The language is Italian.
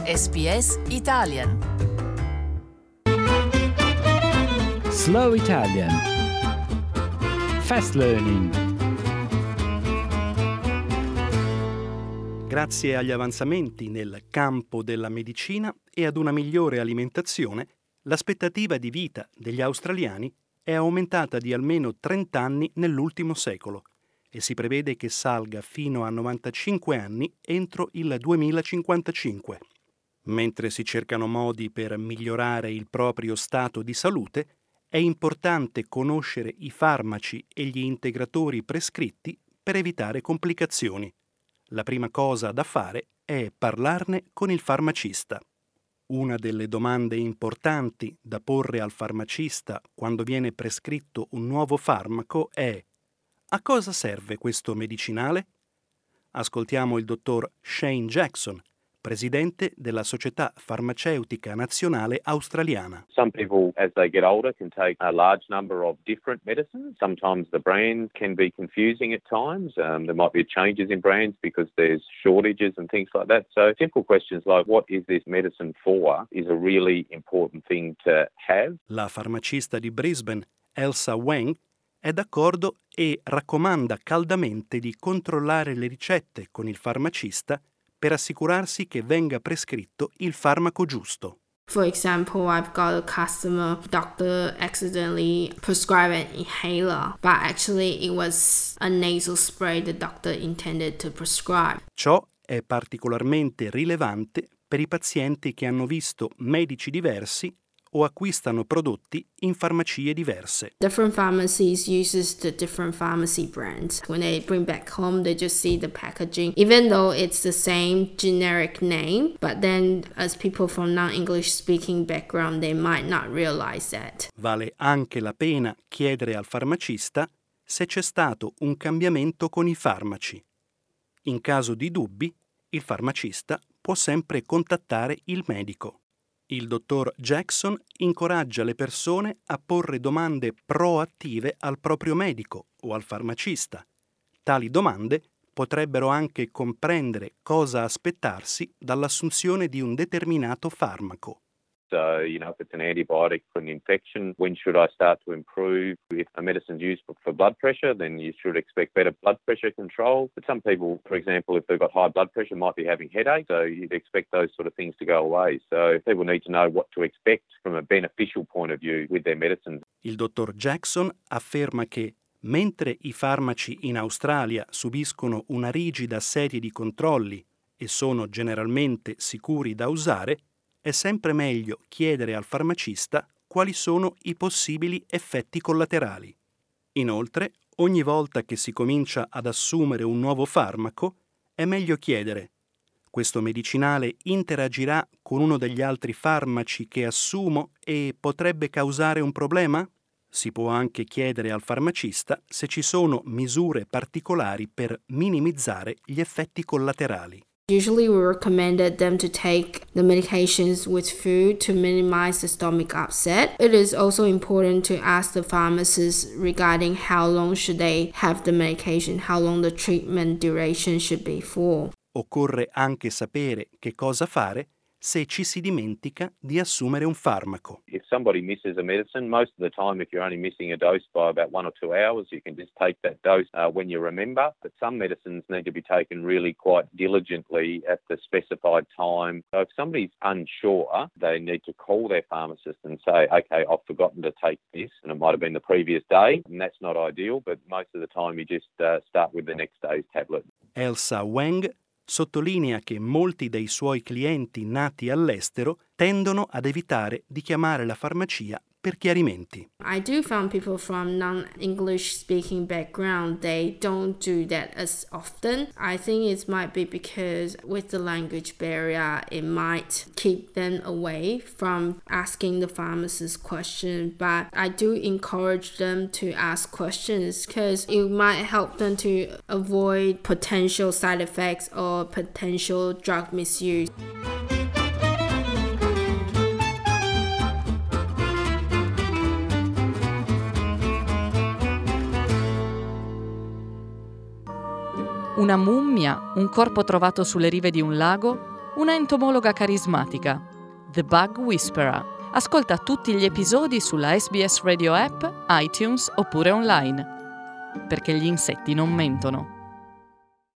SBS Italian. Slow Italian. Fast Learning. Grazie agli avanzamenti nel campo della medicina e ad una migliore alimentazione, l'aspettativa di vita degli australiani è aumentata di almeno 30 anni nell'ultimo secolo e si prevede che salga fino a 95 anni entro il 2055. Mentre si cercano modi per migliorare il proprio stato di salute, è importante conoscere i farmaci e gli integratori prescritti per evitare complicazioni. La prima cosa da fare è parlarne con il farmacista. Una delle domande importanti da porre al farmacista quando viene prescritto un nuovo farmaco è: a cosa serve questo medicinale? Ascoltiamo il dottor Shane Jackson, presidente della Società Farmaceutica Nazionale Australiana. Some people, as they get older, can take a large number of different medicines. Sometimes the brand can be confusing at times. There might be changes in brands because there's shortages and things like that. So simple questions like, what is this medicine for, is a really important thing to have. La farmacista di Brisbane, Elsa Wang, è d'accordo e raccomanda caldamente di controllare le ricette con il farmacista per assicurarsi che venga prescritto il farmaco giusto. For example, I've got a customer, doctor accidentally prescribed an inhaler, but actually it was a nasal spray the doctor intended to prescribe. Ciò è particolarmente rilevante per i pazienti che hanno visto medici diversi o acquistano prodotti in farmacie diverse. Different pharmacies uses the different pharmacy brands. When they bring back home, they just see the packaging, even though it's the same generic name, but then as people from non-English speaking background, they might not realize that. Vale anche la pena chiedere al farmacista se c'è stato un cambiamento con i farmaci. In caso di dubbi, il farmacista può sempre contattare il medico. Il dottor Jackson incoraggia le persone a porre domande proattive al proprio medico o al farmacista. Tali domande potrebbero anche comprendere cosa aspettarsi dall'assunzione di un determinato farmaco. So, if it's an antibiotic for an infection, when should I start to improve? If a medicine's used for blood pressure, then you should expect better blood pressure control. But some people, for example, if they've got high blood pressure, might be having headaches, so you'd expect those sort of things to go away. So people need to know what to expect from a beneficial point of view with their medicines. Il dottor Jackson afferma che mentre i farmaci in Australia subiscono una rigida serie di controlli e sono generalmente sicuri da usare, è sempre meglio chiedere al farmacista quali sono i possibili effetti collaterali. Inoltre, ogni volta che si comincia ad assumere un nuovo farmaco, è meglio chiedere: questo medicinale interagirà con uno degli altri farmaci che assumo e potrebbe causare un problema? Si può anche chiedere al farmacista se ci sono misure particolari per minimizzare gli effetti collaterali. Usually we recommended them to take the medications with food to minimize the stomach upset. It is also important to ask the pharmacist regarding how long should they have the medication, how long the treatment duration should be for. Occorre anche sapere che cosa fare se ci si dimentica di assumere un farmaco. If somebody misses a medicine, most of the time if you're only missing a dose by about 1 or 2 hours, you can just take that dose when you remember. But some medicines need to be taken really quite diligently at the specified time. So if somebody's unsure, they need to call their pharmacist and say, okay, I've forgotten to take this, and it might have been the previous day, and that's not ideal, but most of the time you just start with the next day's tablet. Elsa Wang sottolinea che molti dei suoi clienti nati all'estero tendono ad evitare di chiamare la farmacia per chiarimenti. I do find people from non-English speaking background, they don't do that as often. I think it might be because with the language barrier, it might keep them away from asking the pharmacist questions. But I do encourage them to ask questions because it might help them to avoid potential side effects or potential drug misuse. Una mummia, un corpo trovato sulle rive di un lago, una entomologa carismatica, The Bug Whisperer. Ascolta tutti gli episodi sulla SBS Radio App, iTunes oppure online. Perché gli insetti non mentono.